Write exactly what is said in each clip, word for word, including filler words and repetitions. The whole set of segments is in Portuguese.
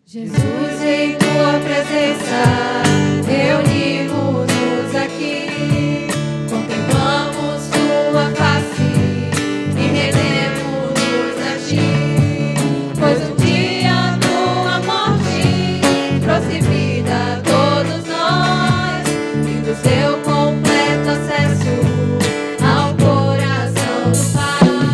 Jesus, em tua presença, reunimos-nos aqui, contemplamos tua face e rendemos-nos a ti, pois um dia tua morte trouxe vida a todos nós e do seu completo acesso ao coração do Pai.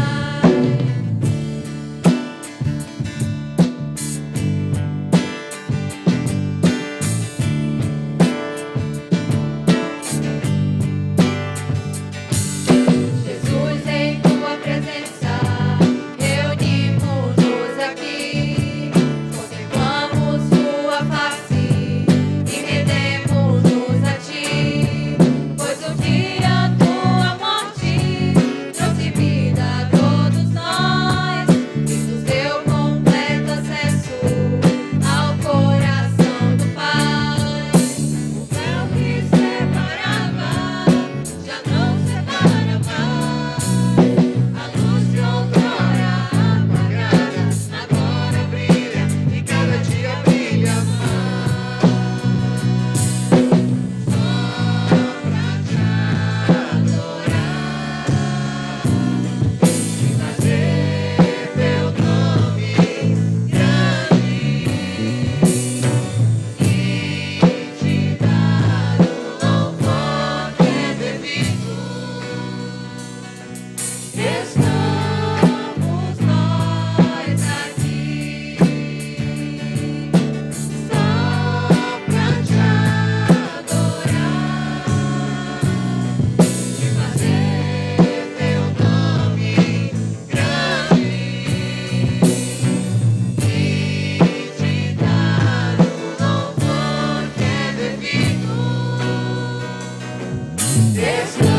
Jesus, em tua presença, reunimos-nos aqui, contemplamos tua face e rendemos-nos a ti, pois um dia tua morte trouxe vida a todos nós e nos deu completo acesso ao coração do Pai. O véu que separava já não separa mais. A luz de outrora apagada agora brilha e cada dia brilha mais. Só pra te adorar e fazer teu nome grande e te dar o louvor que é devido. Estamos nós aqui só pra te adorar e fazer teu nome grande e te dar o louvor que é devido. Estamos